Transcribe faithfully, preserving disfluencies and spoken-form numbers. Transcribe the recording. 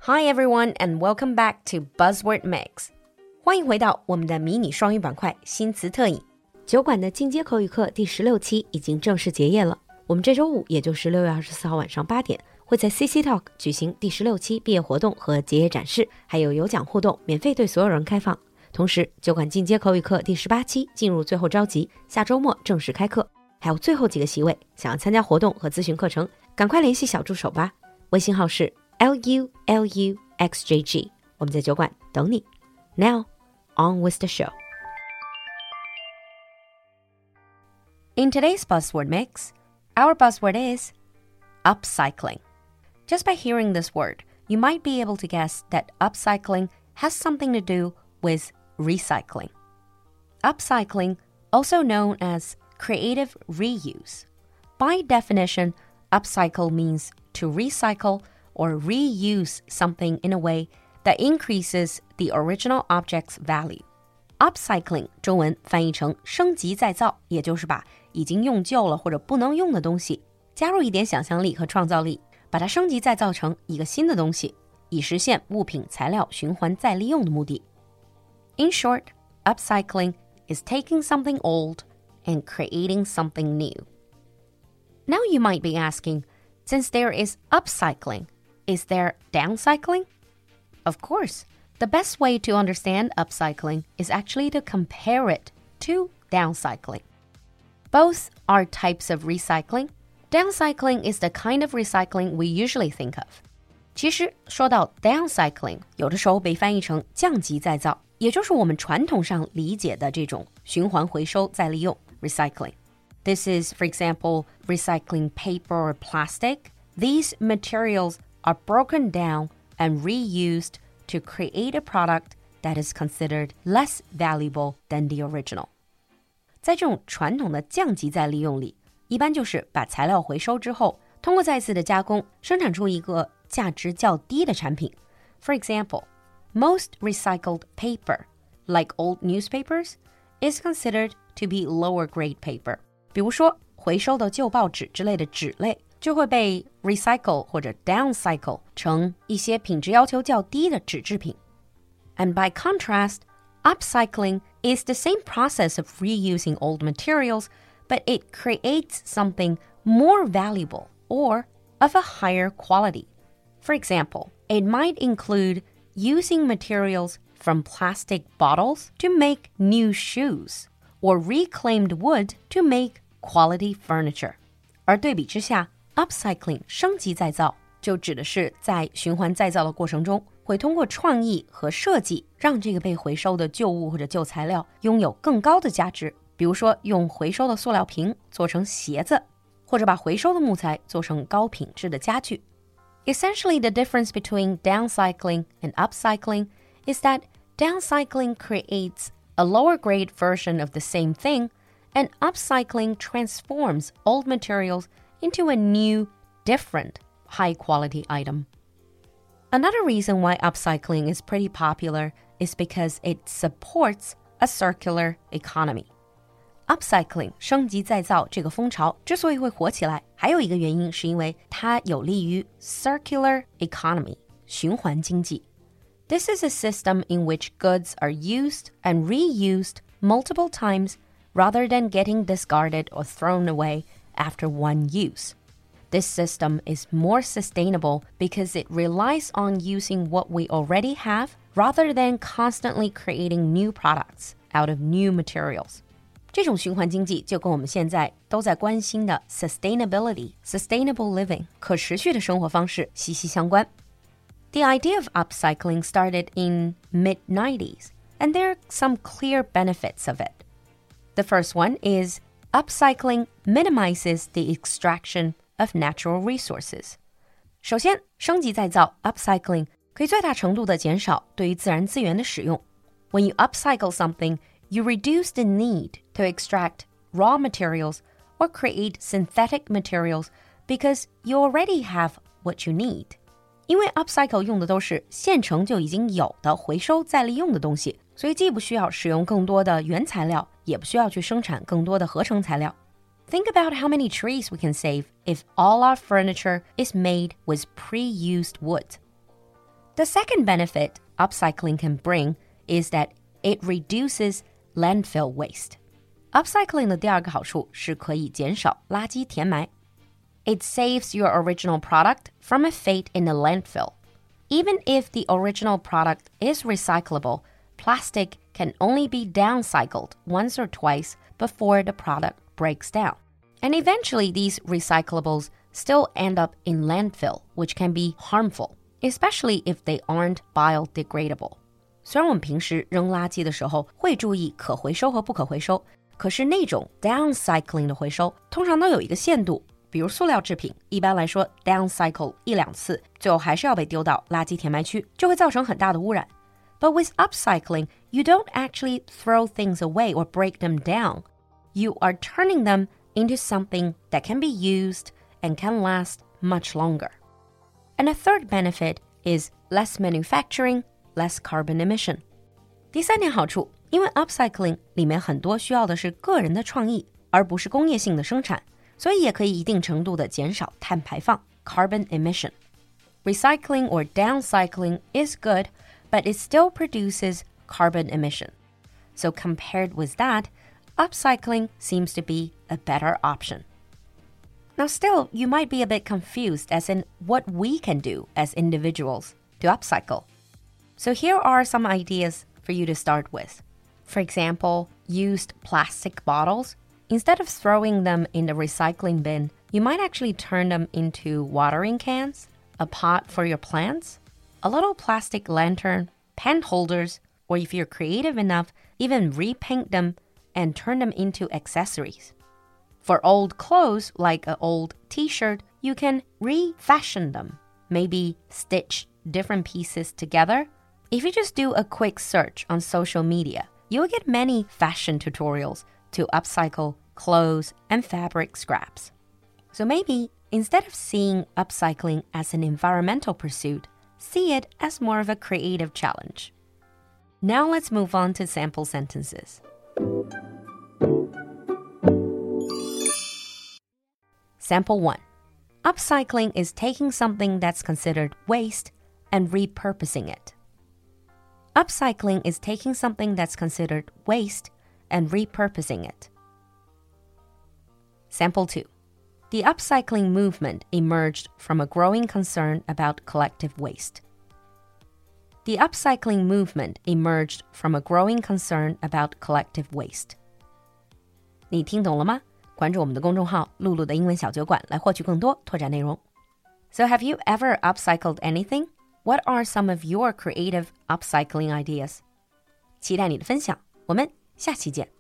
Hi everyone and welcome back to Buzzword Mix. 欢迎回到我们的迷你双语板块新词特饮。酒馆的进阶口语课第十六期已经正式结业了。我们这周五，也就是六月二十四号晚上八点，会在 C C Talk 举行第十六期毕业活动和结业展示，还有有奖互动，免费对所有人开放。同时，酒馆进阶口语课第十八期进入最后召集，下周末正式开课。还有最后几个席位，想要参加活动和咨询课程，赶快联系小助手吧。微信号是 L U L U X J G， 我们在酒馆等你。Now, on with the show. In today's buzzword mix, our buzzword is upcycling. Just by hearing this word, you might be able to guess that upcycling has something to do with recycling. Upcycling, also known as creative reuse. By definition, upcycle means to recycle or reuse something in a way that increases the original object's value. Upcycling 中文翻译成升级再造，也就是把已经用旧了或者不能用的东西加入一点想象力和创造力，把它升级再造成一个新的东西，以实现物品材料循环再利用的目的。In short, upcycling is taking something old and creating something new. Now you might be asking, since there is upcycling, is there downcycling? Of course, the best way to understand upcycling is actually to compare it to downcycling. Both are types of recycling. Downcycling is the kind of recycling we usually think of. 其实说到 downcycling, 有的时候被翻译成降级再造，也就是我们传统上理解的这种循环回收再利用 recycling. This is, for example, recycling paper or plastic. These materials are broken down and reused to create a product that is considered less valuable than the original. 在这种传统的降级再利用里，一般就是把材料回收之后，通过再次的加工，生产出一个价值较低的产品。For example, most recycled paper, like old newspapers, is considered to be lower grade paper. 比如说，回收的旧报纸之类的纸类，就会被 recycle 或者 downcycle 成一些品质要求较低的纸制品。And by contrast, upcycling is the same process of reusing old materials, but it creates something more valuable or of a higher quality. For example, it might include using materials from plastic bottles to make new shoes, or reclaimed wood to make quality furniture. 而对比之下， upcycling 升级再造就指的是在循环再造的过程中，会通过创意和设计让这个被回收的旧物或者旧材料拥有更高的价值。比如说用回收的塑料瓶做成鞋子，或者把回收的木材做成高品质的家具。Essentially, the difference between downcycling and upcycling is that downcycling creates a lower grade version of the same thing, and upcycling transforms old materials into a new, different, high-quality item. Another reason why upcycling is pretty popular is because it supports a circular economy. Upcycling 升级再造这个风潮之所以会火起来，还有一个原因是因为它有利于 circular economy 循环经济。This is a system in which goods are used and reused multiple times rather than getting discarded or thrown away after one use. This system is more sustainable because it relies on using what we already have rather than constantly creating new products out of new materials. 这种循环经济就跟我们现在都在关心的 sustainability, sustainable living, 可持续的生活方式息息相关。The idea of upcycling started in mid nineties, and there are some clear benefits of it. The first one is upcycling minimizes the extraction of natural resources. 首先，升级再造 upcycling 可以最大程度地减少对于自然资源的使用。When you upcycle something, you reduce the need to extract raw materials or create synthetic materials because you already have what you need. 因为 upcycle 用的都是现成就已经有的回收再利用的东西，所以既不需要使用更多的原材料，也不需要去生产更多的合成材料。Think about how many trees we can save if all our furniture is made with pre-used wood. The second benefit upcycling can bring is that it reduces landfill waste. Upcycling 的第二个好处是可以减少垃圾填埋。It saves your original product from a fate in a landfill. Even if the original product is recyclable, plastic can only be downcycled once or twice before the product breaks down. And eventually, these recyclables still end up in landfill, which can be harmful, especially if they aren't biodegradable. 虽然我们平时扔垃圾的时候会注意可回收和不可回收，可是那种 downcycling 的回收通常都有一个限度。比如塑料制品，一般来说 downcycle 一两次，最后还是要被丢到垃圾填埋区，就会造成很大的污染。But with upcycling, you don't actually throw things away or break them down. You are turning them into something that can be used and can last much longer. And a third benefit is less manufacturing, less carbon emission. 第三点好处，因为 upcycling 里面很多需要的是个人的创意，而不是工业性的生产。所以也可以一定程度的减少碳排放 carbon emission. Recycling or downcycling is good, but it still produces carbon emission. So compared with that, upcycling seems to be a better option. Now still, you might be a bit confused as in what we can do as individuals to upcycle. So here are some ideas for you to start with. For example, used plastic bottles.Instead of throwing them in the recycling bin, you might actually turn them into watering cans, a pot for your plants, a little plastic lantern, pen holders, or if you're creative enough, even repaint them and turn them into accessories. For old clothes, like an old t-shirt, you can refashion them, maybe stitch different pieces together. If you just do a quick search on social media, you'll get many fashion tutorials to upcycle clothes and fabric scraps. So maybe instead of seeing upcycling as an environmental pursuit, see it as more of a creative challenge. Now let's move on to sample sentences. Sample one. Upcycling is taking something that's considered waste and repurposing it. Upcycling is taking something that's considered waste and repurposing it. Sample two. The upcycling movement emerged from a growing concern about collective waste. The upcycling movement emerged from a growing concern about collective waste. 你听懂了吗？关注我们的公众号“露露的英文小酒馆”来获取更多拓展内容。So have you ever upcycled anything? What are some of your creative upcycling ideas? 期待你的分享，我们下期见。